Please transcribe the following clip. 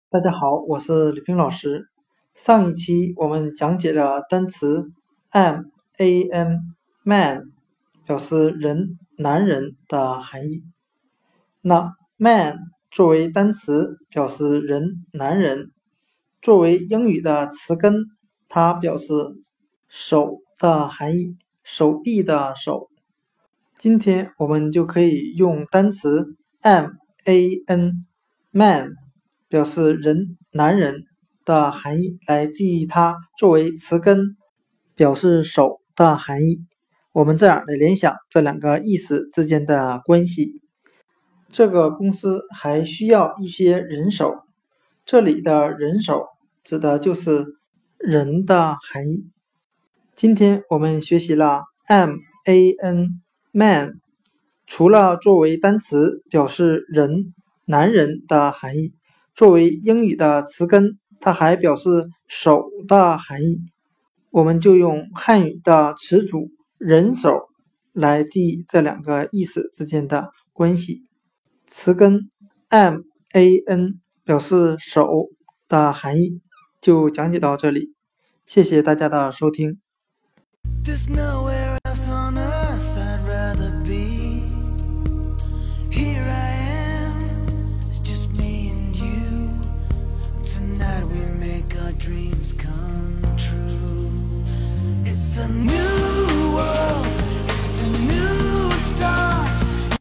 大家好，我是吕冰老师。上一期我们讲解了单词 man 表示人、男人的含义。那 man 作为单词表示人、男人，作为英语的词根，它表示手的含义，手臂的手。今天我们就可以用单词 man 表示人、男人的含义来记忆它作为词根表示手的含义。我们这样来联想这两个意思之间的关系。这个公司还需要一些人手，这里的人手指的就是人的含义。今天我们学习了 man 除了作为单词表示人、男人的含义，作为英语的词根，它还表示手的含义。我们就用汉语的词组人手来记忆这两个意思之间的关系。词根 man 表示手的含义就讲解到这里，谢谢大家的收听。There's no way